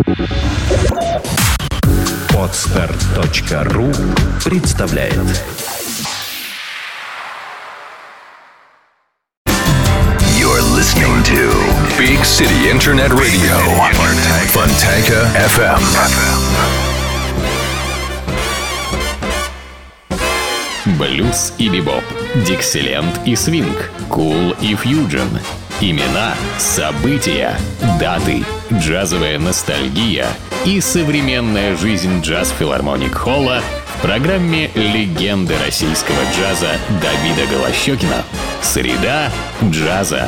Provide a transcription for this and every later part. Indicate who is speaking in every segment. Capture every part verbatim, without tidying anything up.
Speaker 1: Подстер точка ру представляет.
Speaker 2: You're listening to Big City Internet Radio, Fontanka эф эм.
Speaker 3: Блюз и бибоп, диксиленд и свинг, кул и фьюджен. Имена, события, даты, джазовая ностальгия и современная жизнь джаз-филармоник-холла в программе «Легенды российского джаза» Давида Голощёкина. Среда джаза.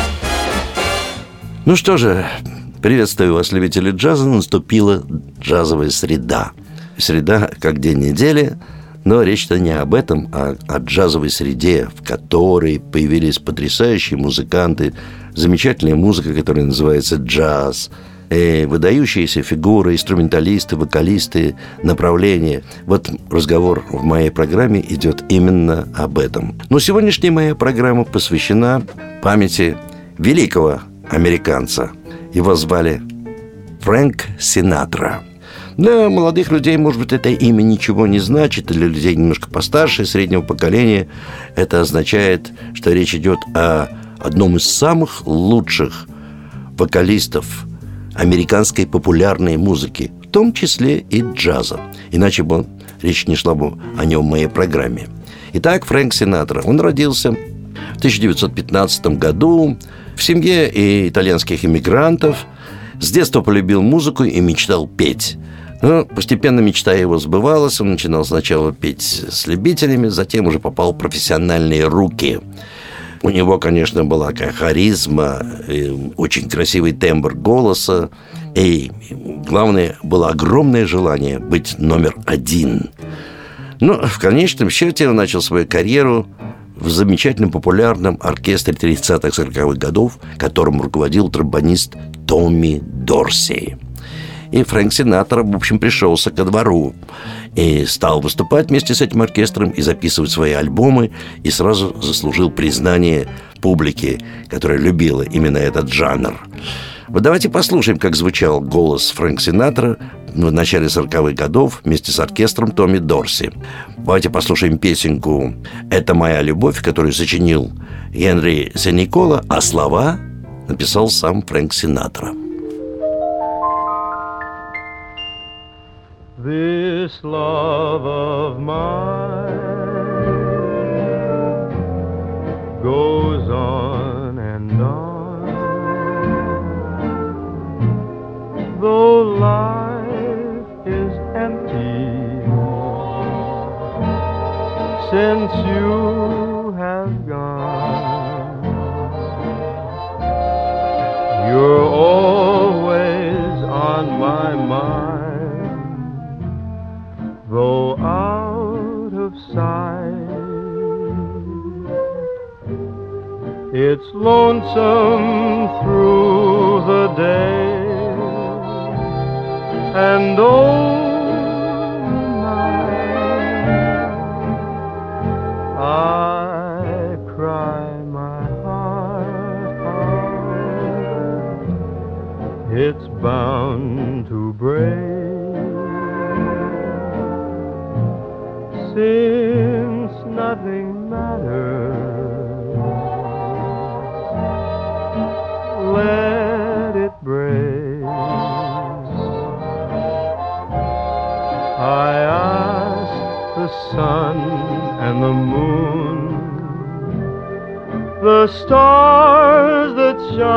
Speaker 4: Ну что же, приветствую вас, любители джаза. Наступила джазовая среда. Среда как день недели. Но речь-то не об этом, а о джазовой среде, в которой появились потрясающие музыканты, замечательная музыка, которая называется джаз, и выдающиеся фигуры, инструменталисты, вокалисты, направления. Вот разговор в моей программе идет именно об этом. Но сегодняшняя моя программа посвящена памяти великого американца. Его звали Фрэнк Синатра. Для молодых людей, может быть, это имя ничего не значит. Для людей немножко постарше, среднего поколения, это означает, что речь идет о одном из самых лучших вокалистов американской популярной музыки, в том числе и джаза. Иначе бы речь не шла бы о нем в моей программе. Итак, Фрэнк Синатра. Он родился в тысяча девятьсот пятнадцатом году в семье итальянских иммигрантов. С детства полюбил музыку и мечтал петь. Но постепенно мечта его сбывалась. Он начинал сначала петь с любителями, затем уже попал в профессиональные руки. У него, конечно, была такая харизма, очень красивый тембр голоса. И главное, было огромное желание быть номер один. Но в конечном счете он начал свою карьеру в замечательном популярном оркестре тридцатых-сороковых годов, которым руководил тромбонист Томми Дорси. И Фрэнк Синатра, в общем, пришелся ко двору и стал выступать вместе с этим оркестром и записывать свои альбомы, и сразу заслужил признание публики, которая любила именно этот жанр. Вот давайте послушаем, как звучал голос Фрэнк Синатра в начале сороковых годов вместе с оркестром Томми Дорси. Давайте послушаем песенку «Это моя любовь», которую сочинил Генри Сен-Никола, а слова написал сам Фрэнк Синатра.
Speaker 5: This love of mine goes on and on, though life is empty since you have gone. You're always on my mind, though out of sight. It's lonesome through the day, and oh night I cry my heart out. It's bound to break, since nothing matters. Let it break. I ask the sun and the moon, the stars that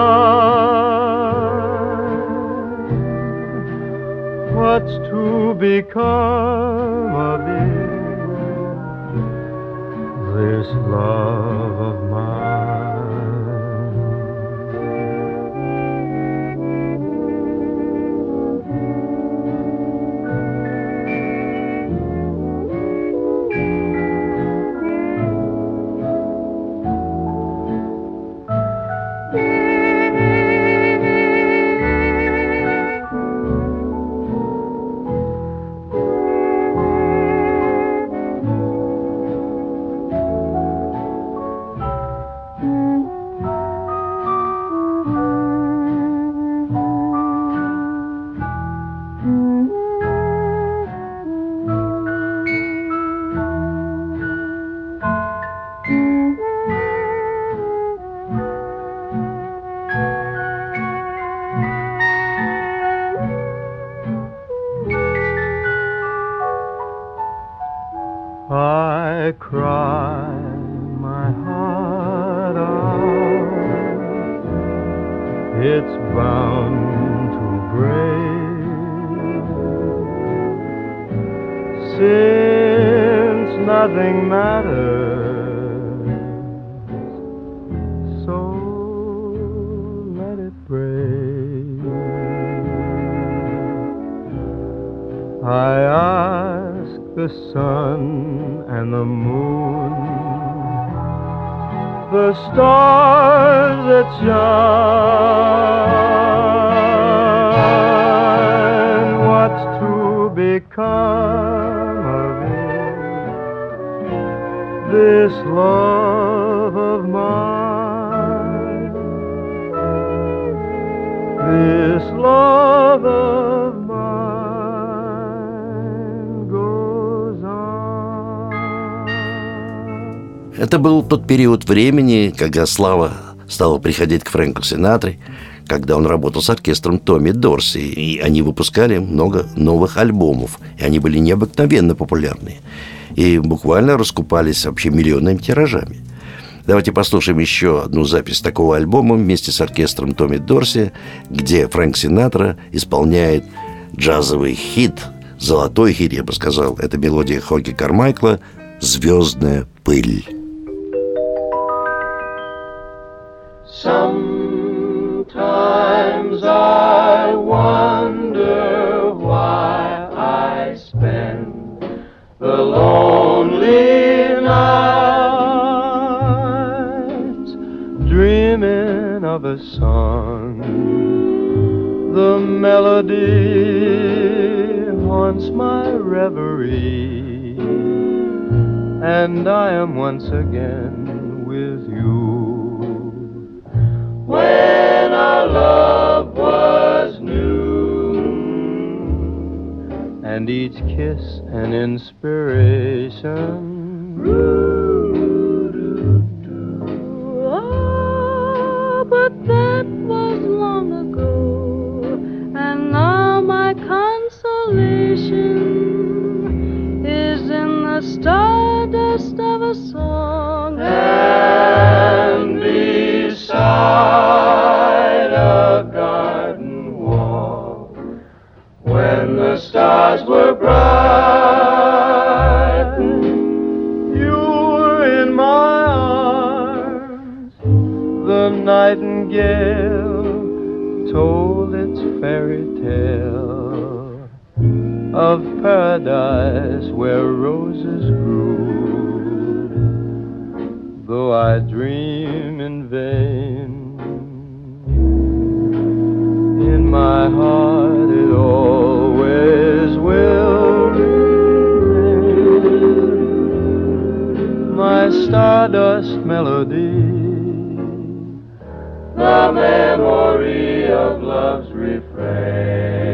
Speaker 5: shine, what's to become of it, this love of mine. I cry my heart out, it's bound to break, since nothing matters, so let it break. I ask the sun and the moon, the stars that shine, what's to become of it, this love of mine, this love of
Speaker 4: Это был тот период времени, когда слава стала приходить к Фрэнку Синатре, когда он работал с оркестром Томми Дорси, и они выпускали много новых альбомов, и они были необыкновенно популярны, и буквально раскупались вообще миллионными тиражами. Давайте послушаем еще одну запись такого альбома вместе с оркестром Томми Дорси, где Фрэнк Синатра исполняет джазовый хит, золотой хит, я бы сказал. Это мелодия Хоги Кармайкла «Звездная пыль».
Speaker 5: Sometimes I wonder why I spend the lonely nights dreaming of a song. The melody haunts my reverie, and I am once again with you. When our love was new, and each kiss an inspiration.
Speaker 6: Oh, but that was long ago, and now my consolation is in the stardust of a song.
Speaker 5: And beside a garden wall, when the stars were bright, you were in my arms. The nightingale told its fairy tale of paradise where roses grew. Though I dream in vain, in my heart it always will remain. My stardust melody, the memory of love's refrain.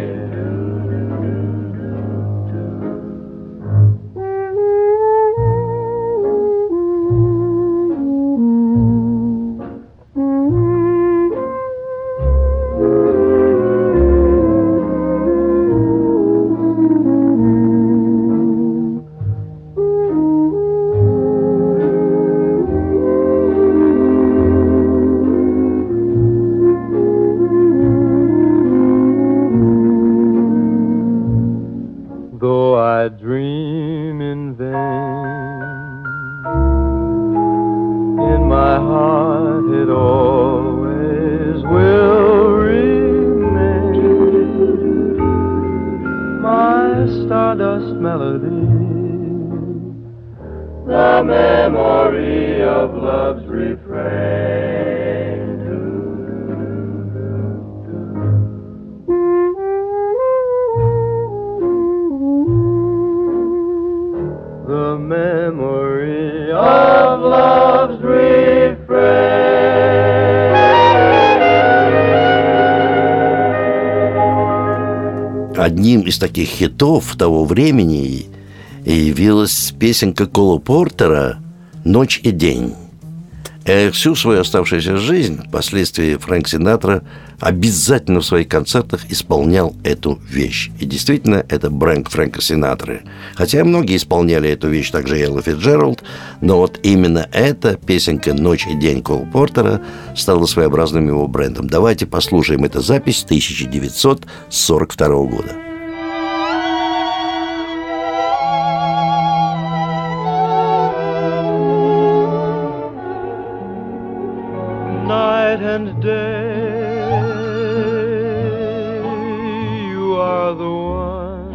Speaker 5: I dream in vain, in my heart it always will remain. My stardust melody, the memory of love's refrain. The memory of love's refrain.
Speaker 4: Одним из таких хитов того времени явилась песенка Кола Портера «Ночь и день». И всю свою оставшуюся жизнь впоследствии Фрэнк Синатра обязательно в своих концертах исполнял эту вещь. И действительно, это бренд Фрэнка Синатры. Хотя многие исполняли эту вещь, также Элла Фицджеральд, но вот именно эта песенка «Ночь и день» Коул Портера стала своеобразным его брендом. Давайте послушаем эту запись тысяча девятьсот сорок второго года.
Speaker 5: Night and day, you are the one.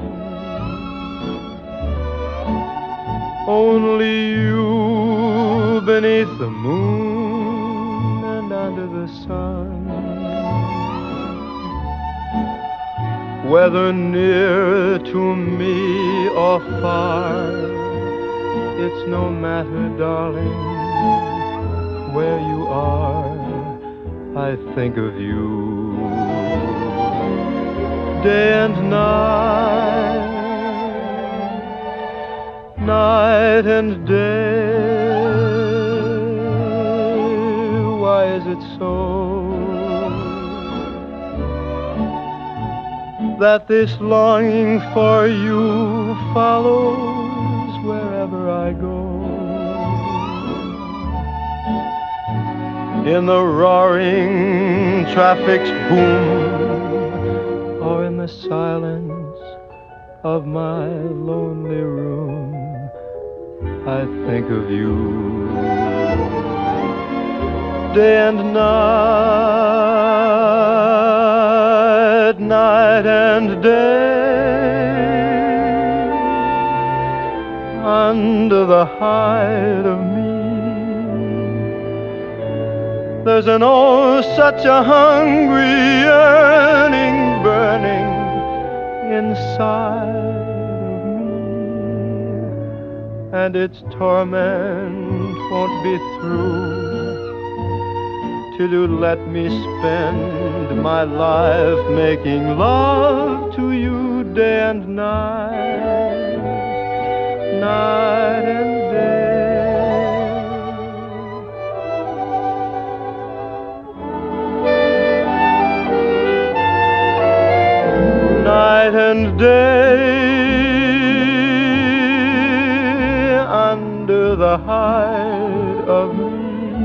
Speaker 5: Only you beneath the moon and under the sun. Whether near to me or far, it's no matter, darling, where you are, I think of you day and night, night and day. Why is it so that this longing for you follows wherever I go? In the roaring traffic's boom, or in the silence of my lonely room, I think of you day and night, night and day, under the hide of me. There's an oh, such a hungry yearning burning inside of me, and its torment won't be through till you let me spend my life making love to you day and night, night and day. Night and day, under the hide of me,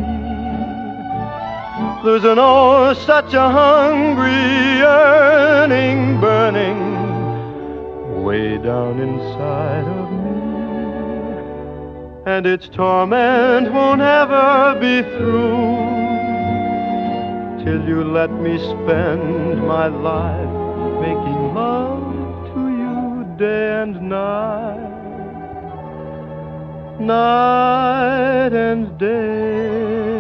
Speaker 5: there's an oh, such a hungry yearning burning way down inside of me, and its torment won't ever be through till you let me spend my life making love to you day and night, night and day.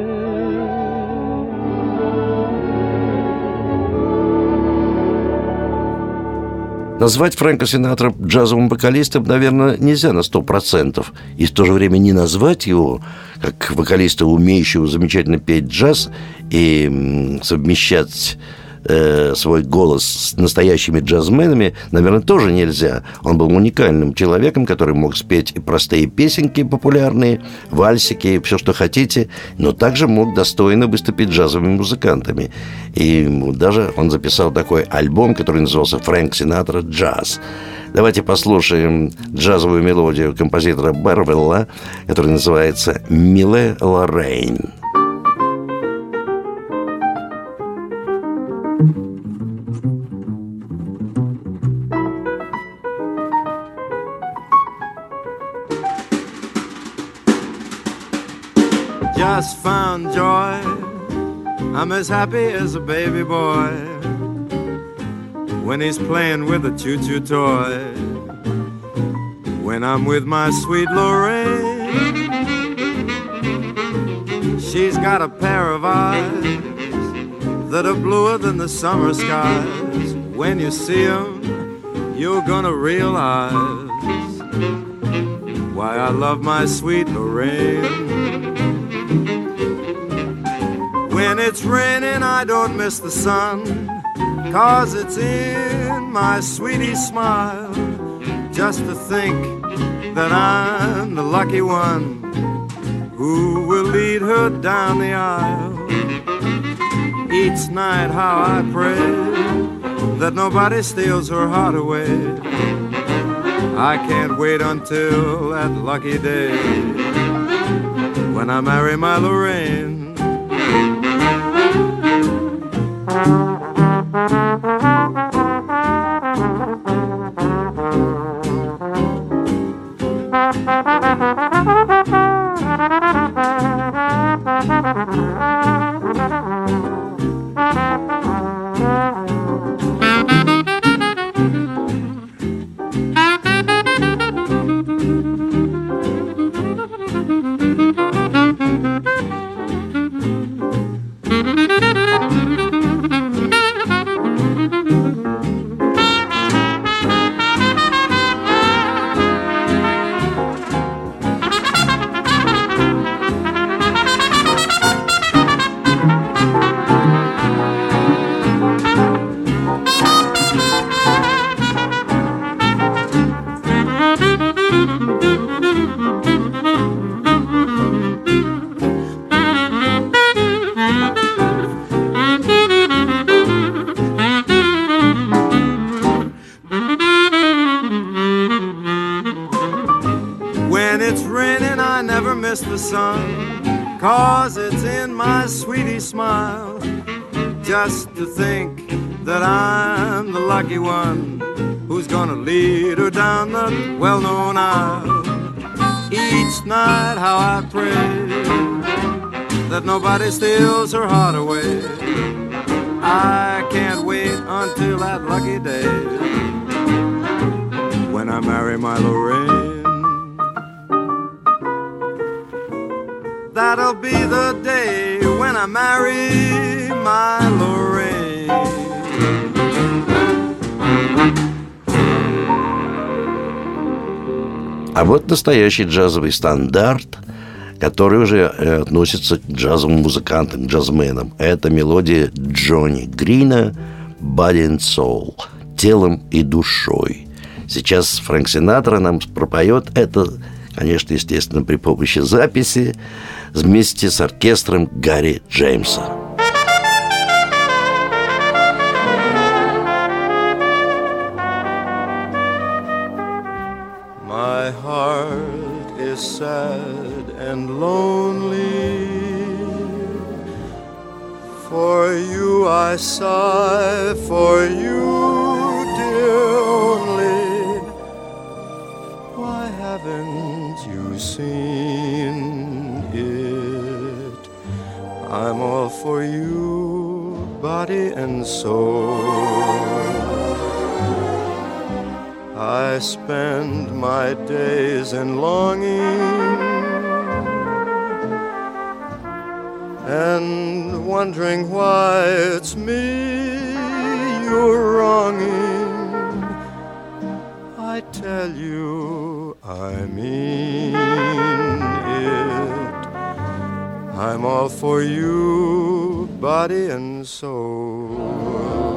Speaker 4: Назвать Фрэнка Синатра джазовым вокалистом, наверное, нельзя на сто процентов. И в то же время не назвать его как вокалиста, умеющего замечательно петь джаз и совмещать свой голос с настоящими джазменами, наверное, тоже нельзя. Он был уникальным человеком, который мог спеть и простые песенки популярные, вальсики, все, что хотите, но также мог достойно выступить джазовыми музыкантами. И даже он записал такой альбом, который назывался «Фрэнк Синатра Джаз». Давайте послушаем джазовую мелодию композитора Бервилла, которая называется «Миле Лоррейн».
Speaker 7: Just found joy, I'm as happy as a baby boy when he's playing with a choo-choo toy. When I'm with my sweet Lorraine, she's got a pair of eyes that are bluer than the summer skies. When you see them, you're gonna realize why I love my sweet Lorraine. When it's raining, I don't miss the sun, 'cause it's in my sweetie's smile. Just to think that I'm the lucky one who will lead her down the aisle. Each night how I pray that nobody steals her heart away. I can't wait until that lucky day when I marry my Lorraine. When it's raining, I never miss the sun, 'cause it's in my sweetie smile. Just to think that I'm the lucky one who's gonna lead her down the well-known aisle. Each night how I pray that nobody steals her heart away. I can't wait until that lucky day when I marry my Lorraine. That'll be the day when I marry my Lorraine.
Speaker 4: А вот настоящий джазовый стандарт, который уже относится к джазовым музыкантам, к джазменам. Это мелодия Джонни Грина «Body and Soul» – «Телом и душой». Сейчас Фрэнк Синатра нам пропоет это, конечно, естественно, при помощи записи вместе с оркестром Гарри Джеймса.
Speaker 7: My heart is sad and lonely. For you I sigh, for you, dear only. Why haven't you seen it? I'm all for you, body and soul. I spend my days in longing and wondering why it's me you're wronging. I tell you I mean it. I'm all for you, body and soul.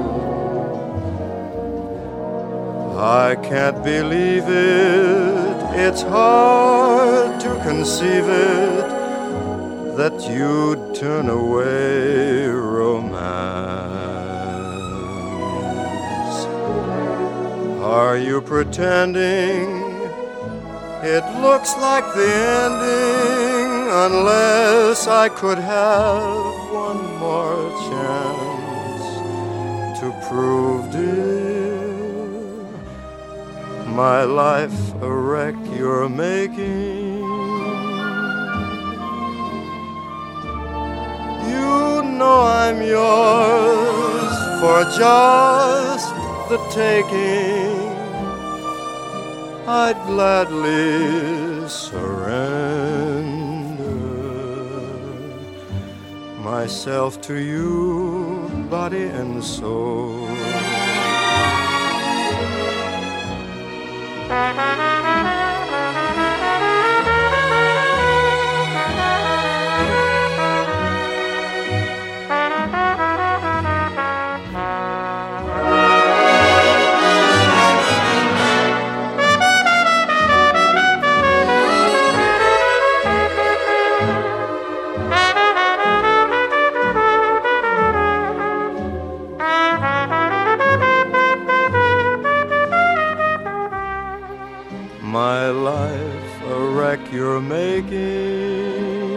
Speaker 7: I can't believe it, it's hard to conceive it, that you'd turn away romance. Are you pretending it looks like the ending, unless I could have one more chance to prove, dear, my life a wreck you're making? You know I'm yours for just the taking. I'd gladly surrender myself to you, body and soul. my life a wreck you're making.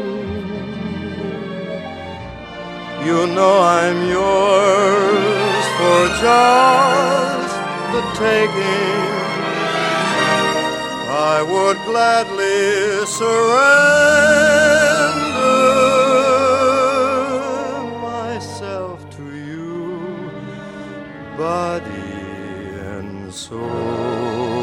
Speaker 7: You know I'm yours for just the taking. I would gladly surrender myself to you, body and soul.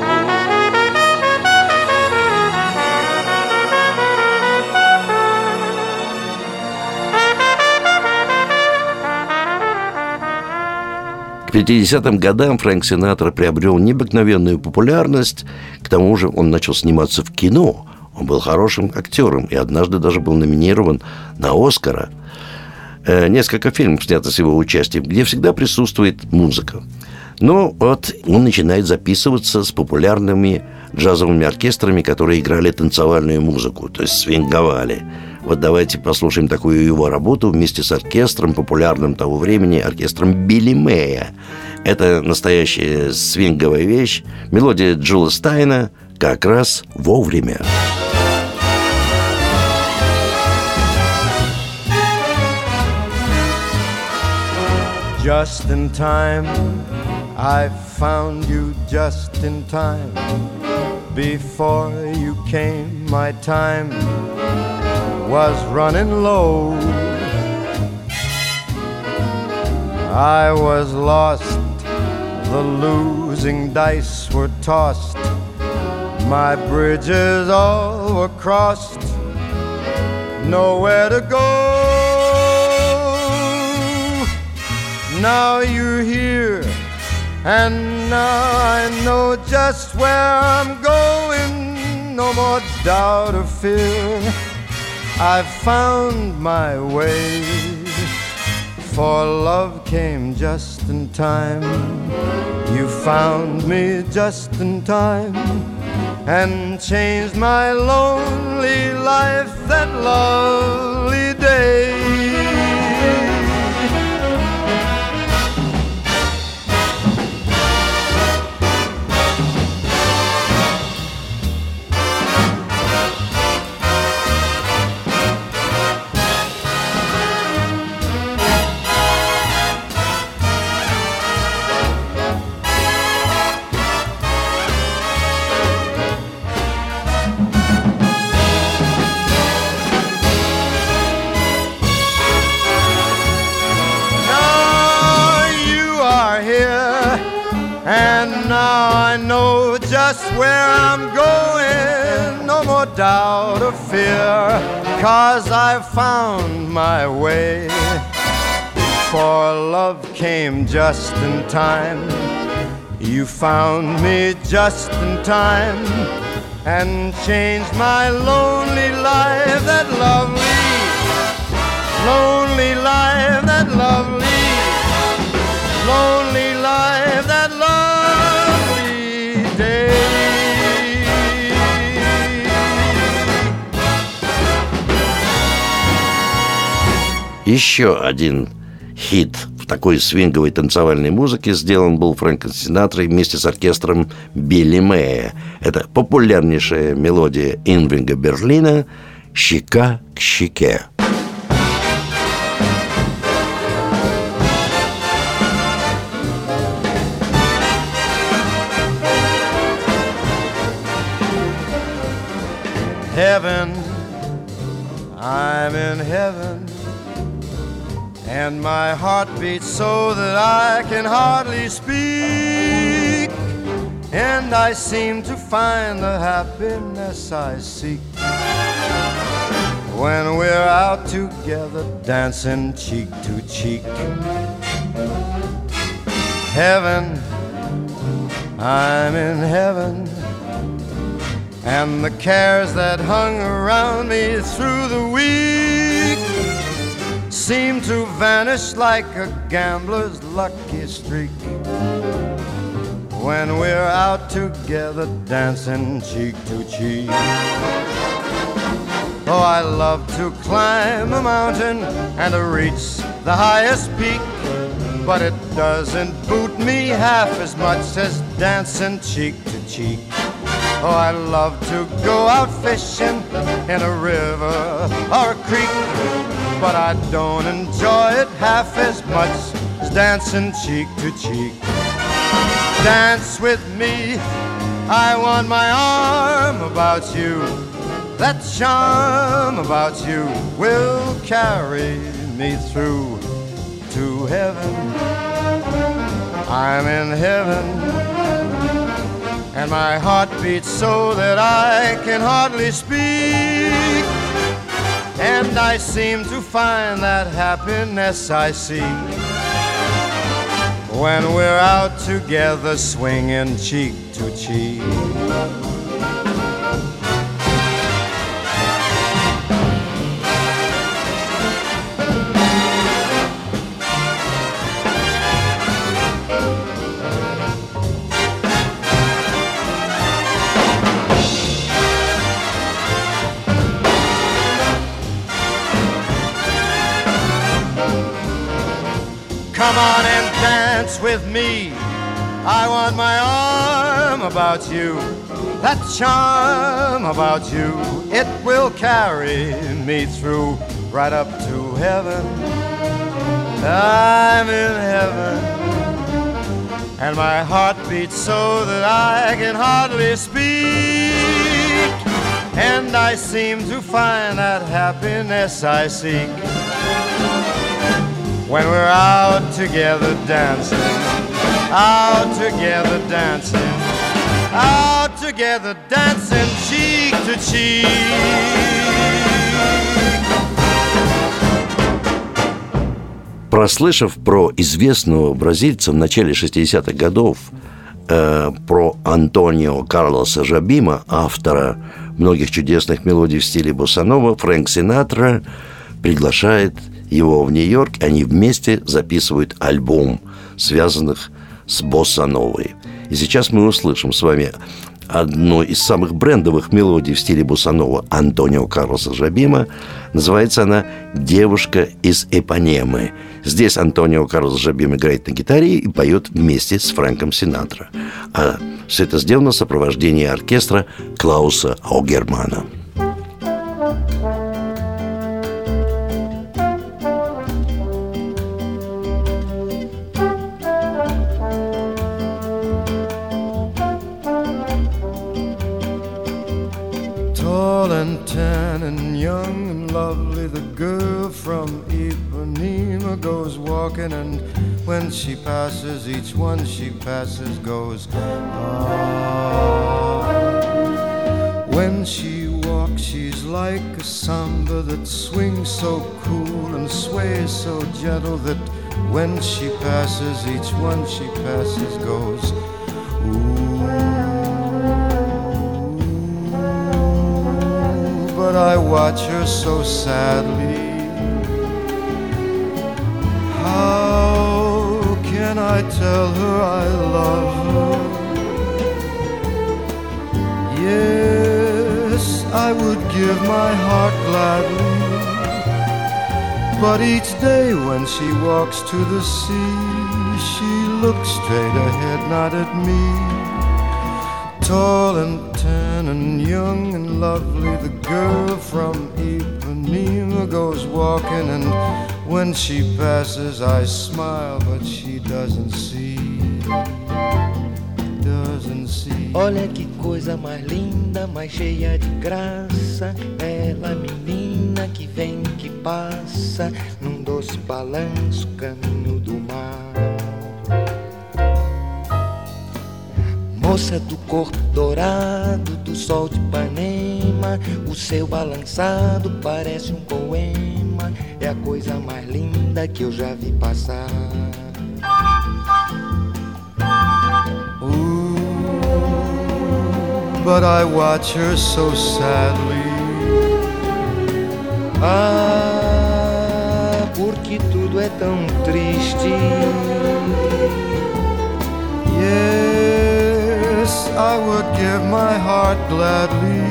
Speaker 4: К пятидесятым годам Фрэнк Синатра приобрел необыкновенную популярность. К тому же он начал сниматься в кино. Он был хорошим актером и однажды даже был номинирован на «Оскара». Э, несколько фильмов снято с его участием, где всегда присутствует музыка. Но вот он начинает записываться с популярными джазовыми оркестрами, которые играли танцевальную музыку, то есть свинговали. Вот давайте послушаем такую его работу вместе с оркестром, популярным того времени, оркестром Билли Мэя. Это настоящая свинговая вещь. Мелодия Джула Стайна как раз вовремя.
Speaker 7: Just in time, I found you just in time. Before you came, my time was running low. I was lost, the losing dice were tossed. My bridges all were crossed, nowhere to go. Now you're here, and now I know just where I'm going. No more doubt or fear, I've found my way. For love came just in time. You found me just in time and changed my lonely life that lovely day. And now I know just where I'm going. No more doubt or fear, 'cause I've found my way. For love came just in time. You found me just in time and changed my lonely life. That lovely, lonely life, that lovely, lonely life, that lovely day.
Speaker 4: Еще один хит в такой свинговой танцевальной музыке сделан был Фрэнком Синатрой вместе с оркестром Билли Мэя. Это популярнейшая мелодия Ирвинга Берлина «Щека к щеке».
Speaker 7: Heaven, I'm in heaven, and my heart beats so that I can hardly speak, and I seem to find the happiness I seek when we're out together dancing cheek to cheek. Heaven, I'm in heaven, and the cares that hung around me through the week seem to vanish like a gambler's lucky streak when we're out together dancing cheek to cheek. Oh, I love to climb a mountain and to reach the highest peak, but it doesn't boot me half as much as dancing cheek to cheek. Oh, I love to go out fishing in a river or a creek, but I don't enjoy it half as much as dancing cheek to cheek. Dance with me, I want my arm about you. That charm about you will carry me through to heaven. I'm in heaven, and my heart beats so that I can hardly speak. And I seem to find that happiness I seek when we're out together swinging cheek to cheek. Come on and dance with me. I want my arm about you. That charm about you, it will carry me through right up to heaven. I'm in heaven, and my heart beats so that I can hardly speak. And I seem to find that happiness I seek when we're out together dancing, out together dancing, out together dancing cheek to cheek.
Speaker 4: Прослышав про известного бразильца в начале шестидесятых годов, э, про Антонио Карлоса Жобима, автора многих чудесных мелодий в стиле боссанова, Фрэнк Синатра приглашает его в Нью-Йорк, они вместе записывают альбом, связанных с боссановой. И сейчас мы услышим с вами одну из самых брендовых мелодий в стиле боссанова Антонио Карлоса Жобима. Называется она «Девушка из Ипанемы». Здесь Антонио Карлос Жобим играет на гитаре и поет вместе с Фрэнком Синатра. А все это сделано в сопровождении оркестра Клауса Аугермана.
Speaker 7: Tall and tan and young and lovely, the girl from Ipanema goes walking, and when she passes, each one she passes goes, ah. When she walks, she's like a samba that swings so cool and sways so gentle that when she passes, each one she passes goes, ooh. But I watch her so sadly. How can I tell her I love her? Yes, I would give my heart gladly, but each day when she walks to the sea, she looks straight ahead, not at me. Tall and tan and young and lovely, the girl from Ipanema goes walking, and when she passes I smile, but she doesn't see, doesn't see.
Speaker 8: Olha que coisa mais linda, mais cheia de graça, ela menina que vem, que passa, num doce balanço, caminho do mar. Moça do corpo dourado, do sol de Ipanema, o seu balançado parece um poema, é a coisa mais linda que eu já vi passar.
Speaker 7: Ooh, but I watch her so sadly.
Speaker 8: Ah, porque tudo é tão triste.
Speaker 7: Yes, I would give my heart gladly,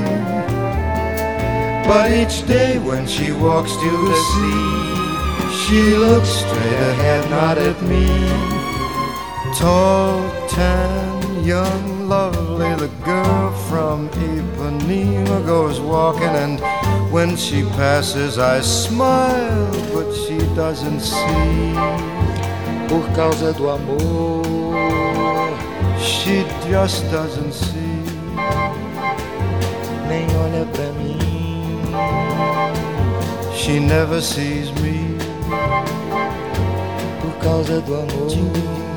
Speaker 7: but each day when she walks to the sea, she looks straight ahead, not at me. Tall, tan, young, lovely, the girl from Ipanema goes walking, and when she passes I smile, but she doesn't see.
Speaker 8: Por causa do amor,
Speaker 7: she just doesn't see.
Speaker 8: Nem olha pra mim,
Speaker 7: she never sees me.
Speaker 8: Por causa do amor.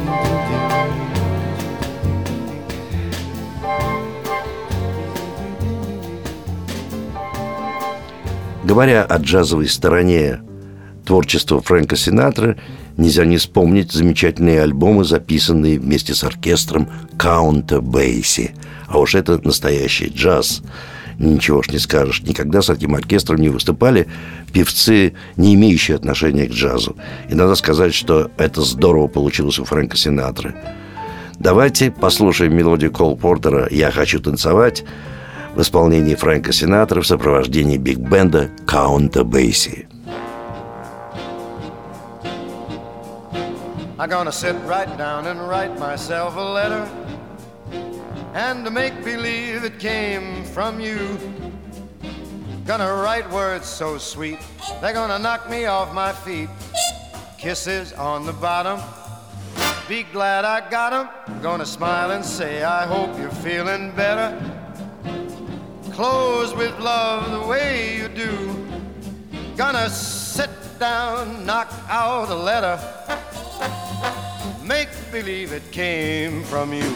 Speaker 4: Говоря о джазовой стороне творчества Фрэнка Синатры, нельзя не вспомнить замечательные альбомы, записанные вместе с оркестром Каунта Бейси. А уж это настоящий джаз. Ничего ж не скажешь. Никогда с этим оркестром не выступали певцы, не имеющие отношения к джазу. И надо сказать, что это здорово получилось у Фрэнка Синатры. Давайте послушаем мелодию Кол Портера «Я хочу танцевать» в исполнении Фрэнка Синатры в сопровождении биг-бенда Каунта Бейси.
Speaker 7: I'm gonna sit right down and write myself a letter, and to make believe it came from you. Gonna write words so sweet, they're gonna knock me off my feet. Kisses on the bottom, be glad I got 'em. Gonna smile and say I hope you're feeling better. Close with love the way you do. Gonna sit down, knock out a letter, make believe it came from you.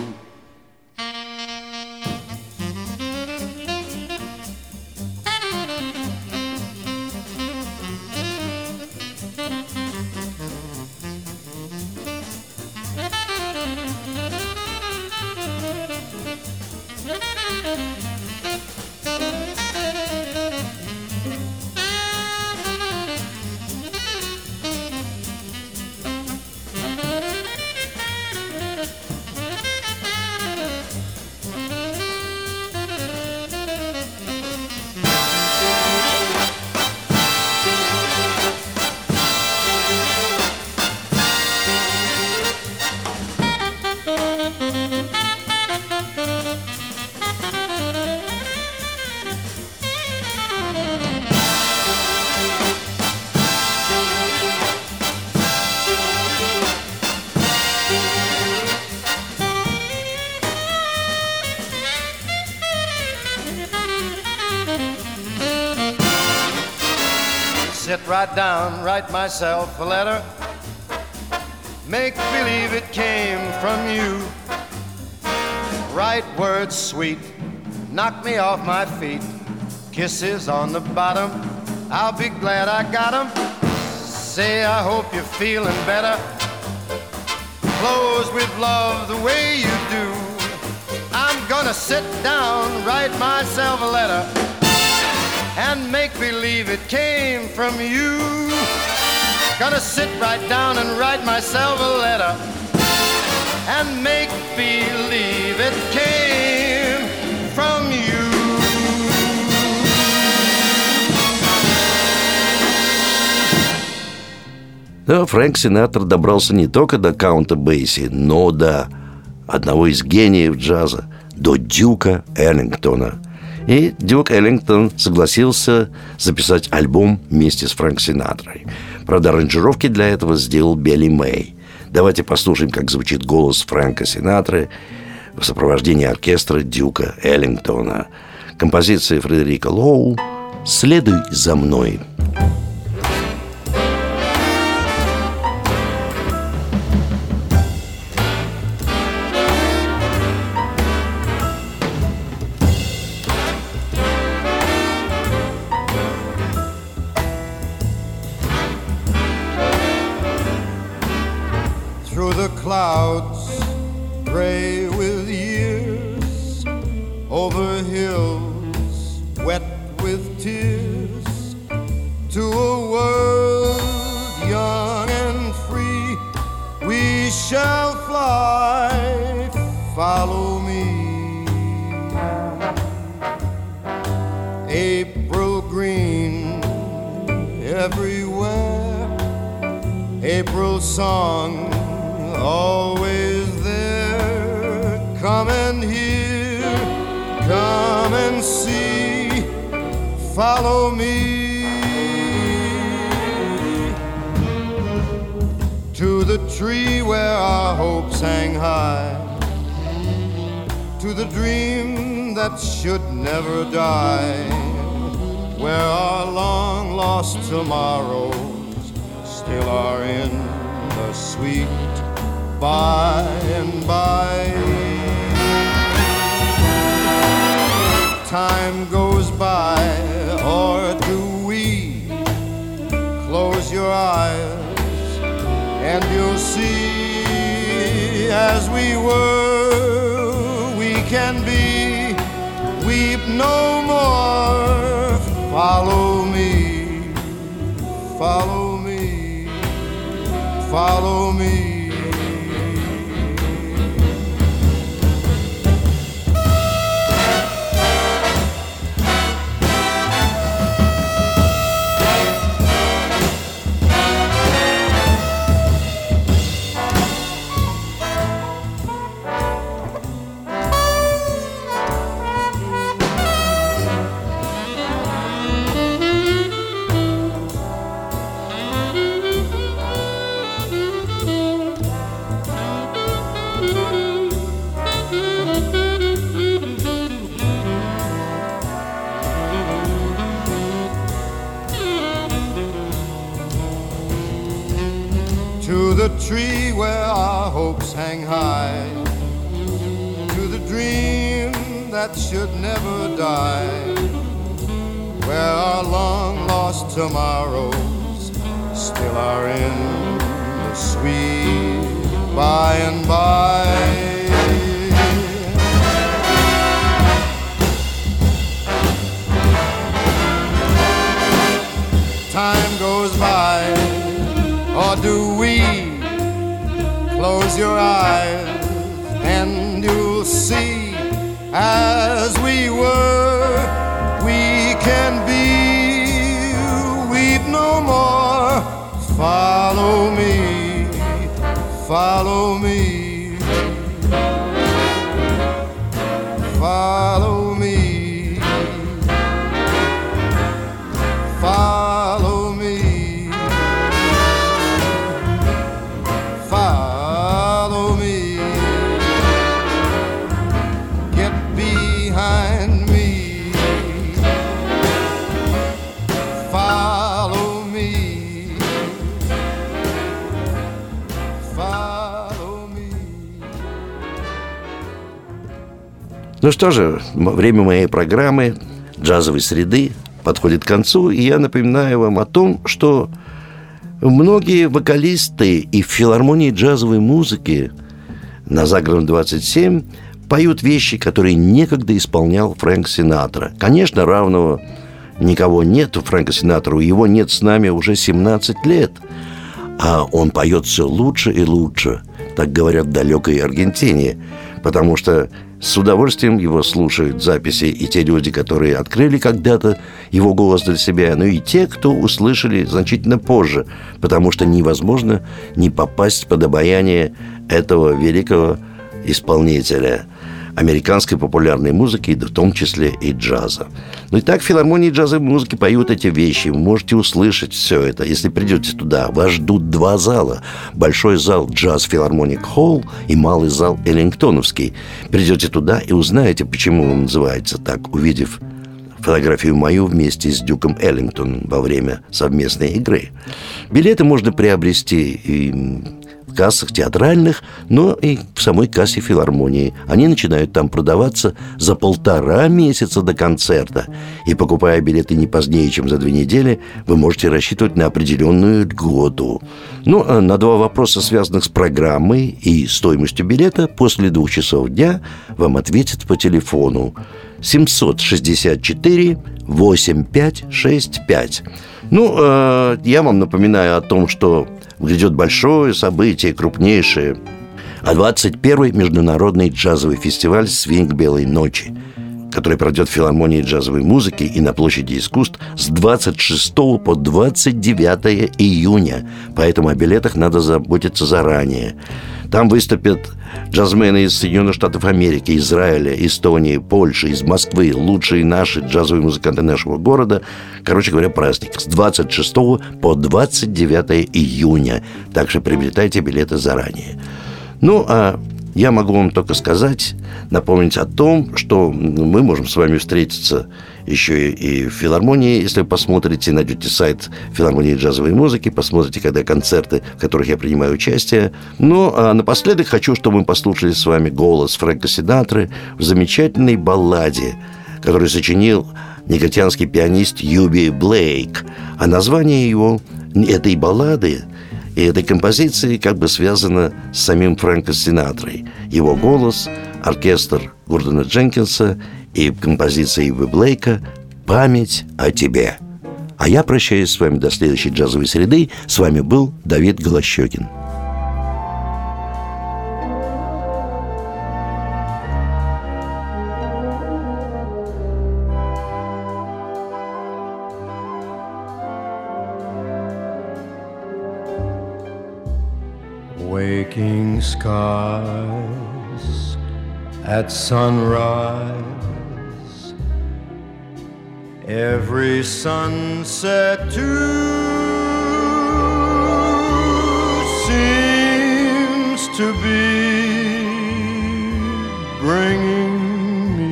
Speaker 7: Sit right down, write myself a letter, make believe it came from you. Write words sweet, knock me off my feet. Kisses on the bottom, I'll be glad I got 'em. Say I hope you're feeling better. Close with love the way you do. I'm gonna sit down, write myself a letter, and make believe it came from you. Gonna sit right down and write myself a letter, and make believe it came from you.
Speaker 4: Да, Фрэнк Синатра добрался не только до Каунта Бейси, но до одного из гениев джаза, до Дюка Эллингтона. И Дюк Эллингтон согласился записать альбом вместе с Фрэнк Синатрой. Правда, аранжировки для этого сделал Билли Мэй. Давайте послушаем, как звучит голос Фрэнка Синатры в сопровождении оркестра Дюка Эллингтона. Композиция Фредерика Лоу «Следуй за мной».
Speaker 7: Through the clouds, gray with years, over hills, wet with tears, to a world young and free, we shall fly, follow me. April green everywhere, April song always there. Come and hear follow me to the tree where our hopes hang high, to the dream that should never die, where our long lost tomorrows still are in the sweet by and by. Time goes by, or do we? Close your eyes and you'll see, as we were, we can be. Weep no more. Follow me, follow me, follow me. To the tree where our hopes hang high, to the dream that should never die, where our long lost tomorrows still are in the sweet by and by. Time goes by, or do we? Close your eyes and you'll see, as we were, we can be. Weep no more. Follow me, follow me, follow me, follow me. Follow me, get behind me. Follow me, follow me.
Speaker 4: Ну что же, время моей программы «Джазовой среды» подходит к концу, и я напоминаю вам о том, что многие вокалисты и в филармонии джазовой музыки на Загородном двадцать семь поют вещи, которые некогда исполнял Фрэнк Синатра. Конечно, равного никого нет у Фрэнка Синатру, его нет с нами уже семнадцать лет, а он поет все лучше и лучше, так говорят в далекой Аргентине, потому что с удовольствием его слушают записи и те люди, которые открыли когда-то его голос для себя, но и те, кто услышали значительно позже, потому что невозможно не попасть под обаяние этого великого исполнителя американской популярной музыки, в том числе и джаза. Ну и так в филармонии джазовой музыки поют эти вещи. Вы можете услышать все это. Если придете туда, вас ждут два зала. Большой зал Джаз Филармоник Холл и малый зал Эллингтоновский. Придете туда и узнаете, почему он называется так, увидев фотографию мою вместе с Дюком Эллингтоном во время совместной игры. Билеты можно приобрести и в кассах театральных, но и в самой кассе филармонии. Они начинают там продаваться за полтора месяца до концерта. И покупая билеты не позднее, чем за две недели, вы можете рассчитывать на определенную льготу. Ну, а на два вопроса, связанных с программой и стоимостью билета, после двух часов дня вам ответят по телефону семьсот шестьдесят четыре восемьдесят пять шестьдесят пять. Ну, э, я вам напоминаю о том, что грядет большое событие, крупнейшее. А двадцать первый международный джазовый фестиваль «Свинг Белой ночи», который пройдет в филармонии джазовой музыки и на площади искусств с двадцать шестого по двадцать девятое июня. Поэтому о билетах надо заботиться заранее. Там выступят джазмены из Соединенных Штатов Америки, Израиля, Эстонии, Польши, из Москвы, лучшие наши джазовые музыканты нашего города. Короче говоря, праздник с двадцать шестого по двадцать девятое июня. Так что приобретайте билеты заранее. Ну, а я могу вам только сказать, напомнить о том, что мы можем с вами встретиться еще и в филармонии. Если вы посмотрите, найдете сайт филармонии джазовой музыки, посмотрите, когда концерты, в которых я принимаю участие. Ну, а напоследок хочу, чтобы мы послушали с вами голос Фрэнка Синатры в замечательной балладе, которую сочинил негритянский пианист Юби Блейк. А название его, этой баллады и этой композиции как бы связано с самим Фрэнком Синатрой. Его голос, оркестр Гордона Дженкинса и композиция Юби Блейка «Память о тебе». А я прощаюсь с вами до следующей джазовой среды. С вами был Давид Голощёкин.
Speaker 5: Waking skies at sunrise, every sunset too seems to be bringing me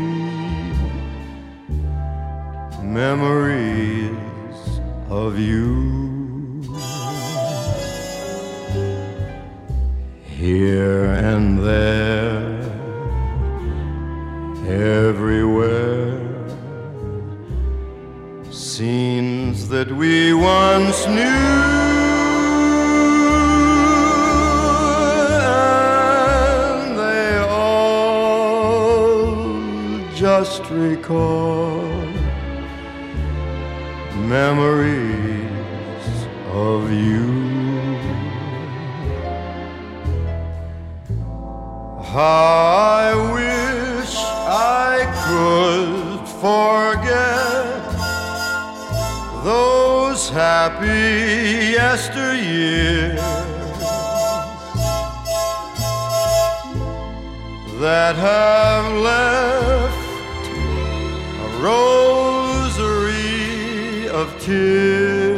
Speaker 5: memories of you. Here and there, everywhere, scenes that we once knew, and they all just recall memories of you. I wish I could forget those happy yesteryears that have left a rosary of tears.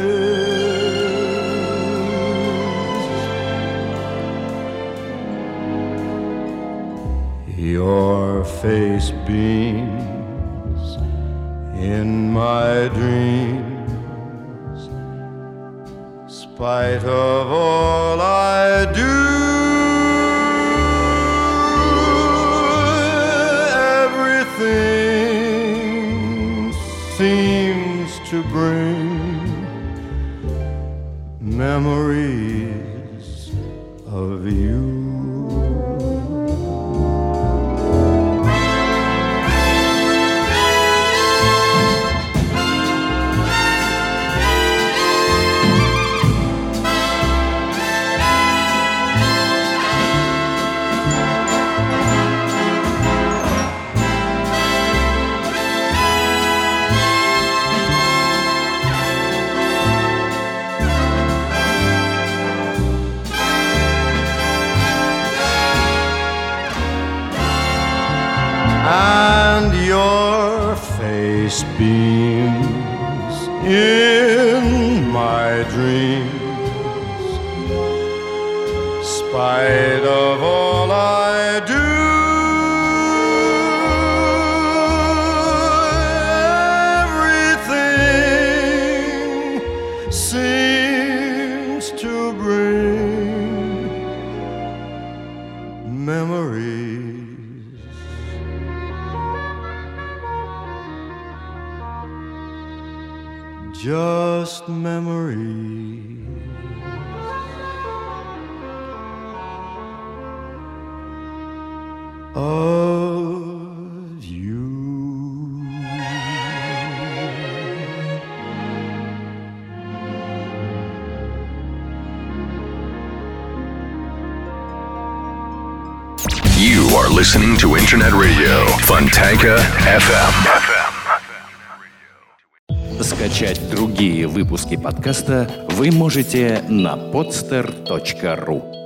Speaker 5: Your face beams in my dreams, spite of all I do. Everything seems to bring memories of you. And your face beams in my dreams, spite of all I do. Everything seems to bring memories. Just memories of you.
Speaker 2: You are listening to Internet Radio Fontanka эф эм.
Speaker 3: Скачать другие выпуски подкаста вы можете на podster точка ру.